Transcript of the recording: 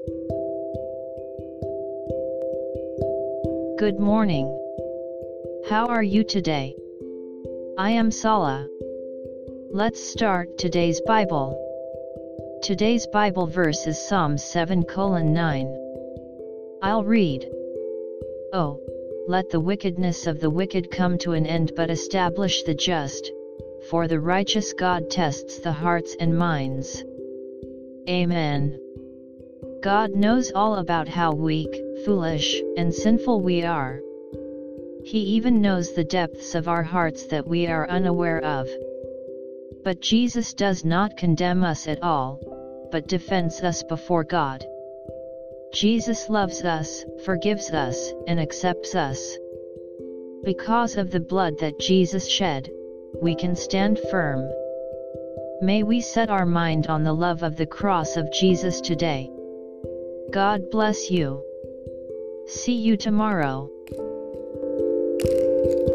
Good morning. How are you today? I am Sala. Let's start today's Bible. Today's Bible verse is Psalms 7:9. I'll read. Oh, let the wickedness of the wicked come to an end, but establish the just, for the righteous God tests the hearts and minds. Amen. God knows all about how weak, foolish, and sinful we are. He even knows the depths of our hearts that we are unaware of. But Jesus does not condemn us at all, but defends us before God. Jesus loves us, forgives us, and accepts us. Because of the blood that Jesus shed, we can stand firm. May we set our mind on the love of the cross of Jesus today. God bless you. See you tomorrow.